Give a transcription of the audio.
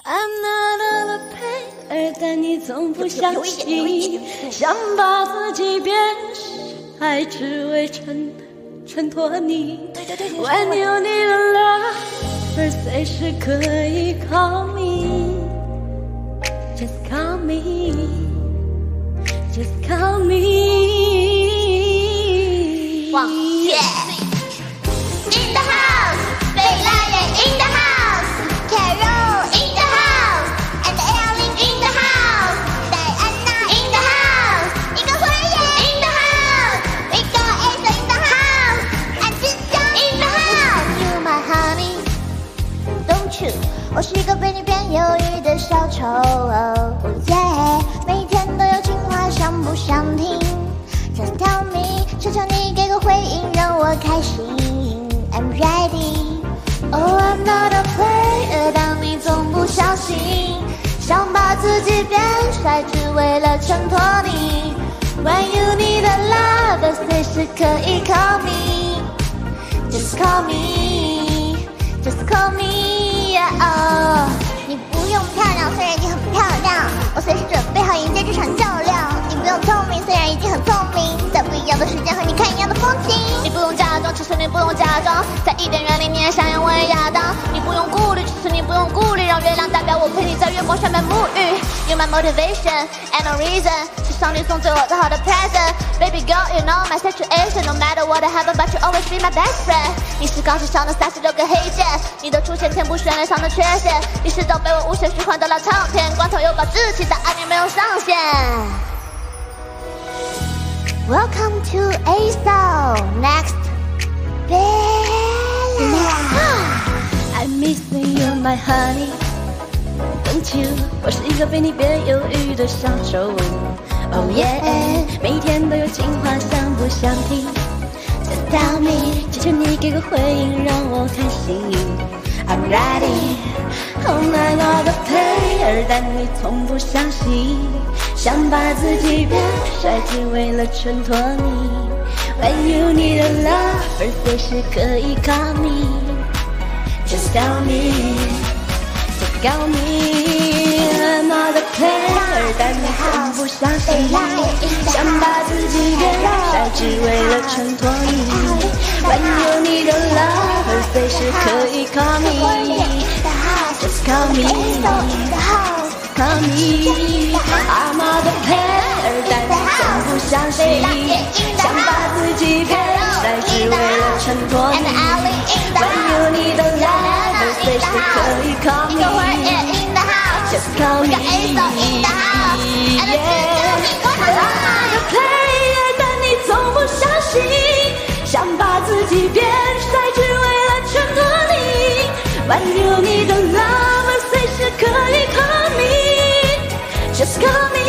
I'm not a player，但你从不相信，想把自己变帅，只为衬托你。When you need a lover，随时可以 call me，just call me，just call me。 往前。In the house， 贝拉人 in the house，Carol in the house，and Ellen in the house，Diana in the house，一个会员 in the house， 一个 Ace in the house，and 志江 in the house。You my honey，don't you？ 我是一个被你变忧郁的小丑，每天都有情话，想不想听 ？Just tell me， 求求你给个回应，让我开心。I'm ready。Oh, I'm not a player， 但你从不相信，想把自己变帅，只为了衬托你。When you need a lover， 随时可以 call me，just call me，just call me。Oh， 你不用漂亮，虽然已经很漂亮，我随时准备好迎接这场较量。你不用聪明，虽然已经很聪明，在不一样的时间和你看一样的风景。你不用假装，其实你不用假装，在伊甸园里你也想要我也亚当。你不用顾虑，其实你不用顾虑，让月亮代表我陪你在月光下面沐浴。You're my motivation and no reason， 是上帝送最我最好的 present。Baby girl, you know my situation， No matter what happen, but you always be my best friend。你是钢琴上的36个黑键，你的出现填补旋律上的缺陷。你是早被我无限循环的老唱片，光头又高志气，但爱你没有上限。Welcome to ASO Next Bella。I missing you, my honey. Don't you？ 我是一个被你变忧郁的小丑。Oh yeah， 每天都有情话，想不想听 ？Just tell me， 求求你给个回应，让我开心。I'm ready。I'm not a player， 但你从不相信，想把自己变帅，只为了衬托你。When you need a lover， 随时可以 call me，just call me，just call me。I'm not a player， 但你从不相信，想把自己变帅，只为了衬托你。When you need a lover， 随时可以 call me。Just call me, call me. I'm not a player， 但你从不相信，想把自己变帅，只为了衬托你。When you need a lover， 随时可以 call me。Just call me, yeah。I'm not a player， 但你从不相信，想把自己变帅，只为了衬托你。When you need a lover， 随时可以 call me，just call me。